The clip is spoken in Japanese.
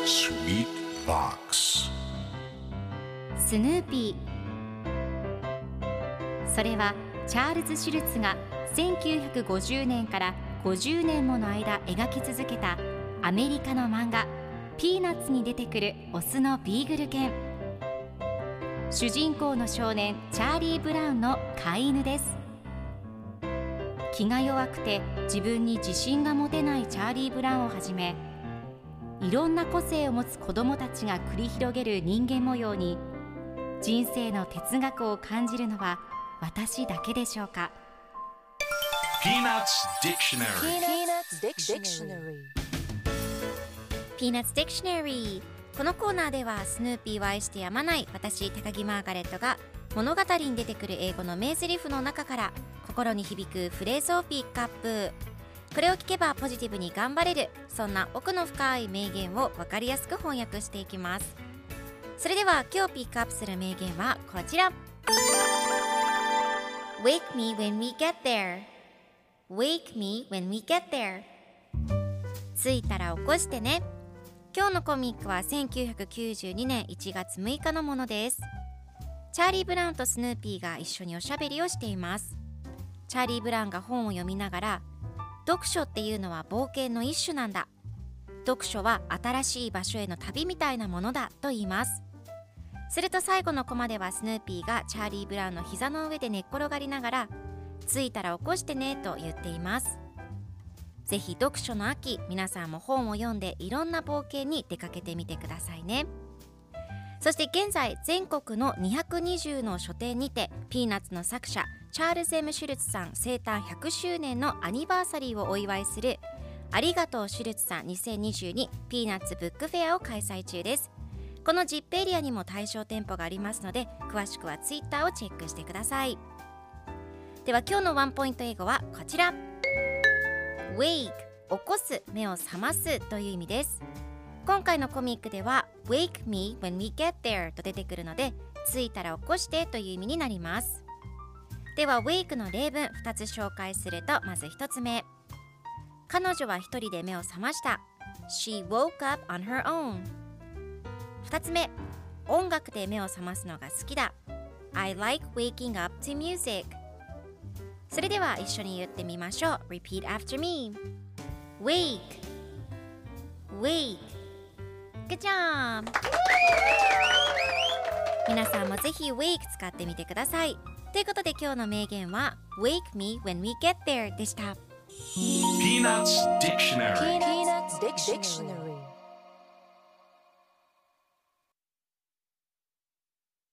Sweet Box スヌーピー。それはチャールズ・シュルツが1950年から50年もの間描き続けたアメリカの漫画ピーナッツに出てくるオスのビーグル犬。主人公の少年チャーリー・ブラウンの飼い犬です。気が弱くて自分に自信が持てないチャーリー・ブラウンをはじめ、いろんな個性を持つ子どもたちが繰り広げる人間模様に人生の哲学を感じるのは私だけでしょうか。 Peanuts Dictionary Peanuts Dictionary。 このコーナーではスヌーピーを愛してやまない私高木マーガレットが物語に出てくる英語の名台詞の中から心に響くフレーズをピックアップ。これを聞けばポジティブに頑張れる、そんな奥の深い名言を分かりやすく翻訳していきます。それでは今日ピックアップする名言はこちら。 Wake me when we get there Wake me when we get there。 着いたら起こしてね。今日のコミックは1992年1月6日のものです。チャーリー・ブラウンとスヌーピーが一緒におしゃべりをしています。チャーリー・ブラウンが本を読みながら、読書っていうのは冒険の一種なんだ、読書は新しい場所への旅みたいなものだと言います。すると最後のコマではスヌーピーがチャーリー・ブラウンの膝の上で寝っ転がりながら、着いたら起こしてねと言っています。ぜひ読書の秋、皆さんも本を読んでいろんな冒険に出かけてみてくださいね。そして現在全国の220の書店にてピーナッツの作者チャールズ・M・シュルツさん生誕100周年のアニバーサリーをお祝いするありがとうシュルツさん2022ピーナッツブックフェアを開催中です。この ZIP エリアにも対象店舗がありますので、詳しくはツイッターをチェックしてください。では今日のワンポイント英語はこちら。 Wake 起こす、目を覚ますという意味です。今回のコミックでは Wake me when we get there と出てくるので、着いたら起こしてという意味になります。では Wake の例文2つ紹介すると、まず1つ目、彼女は一人で目を覚ました。 She woke up on her own。 2つ目、音楽で目を覚ますのが好きだ。 I like waking up to music。 それでは一緒に言ってみましょう。 Repeat after me。 Wake Wake。 Good job。 皆さんもぜひ Wake 使ってみてください。ということで今日の名言は Wake me when we get there でした。 Peanuts Dictionary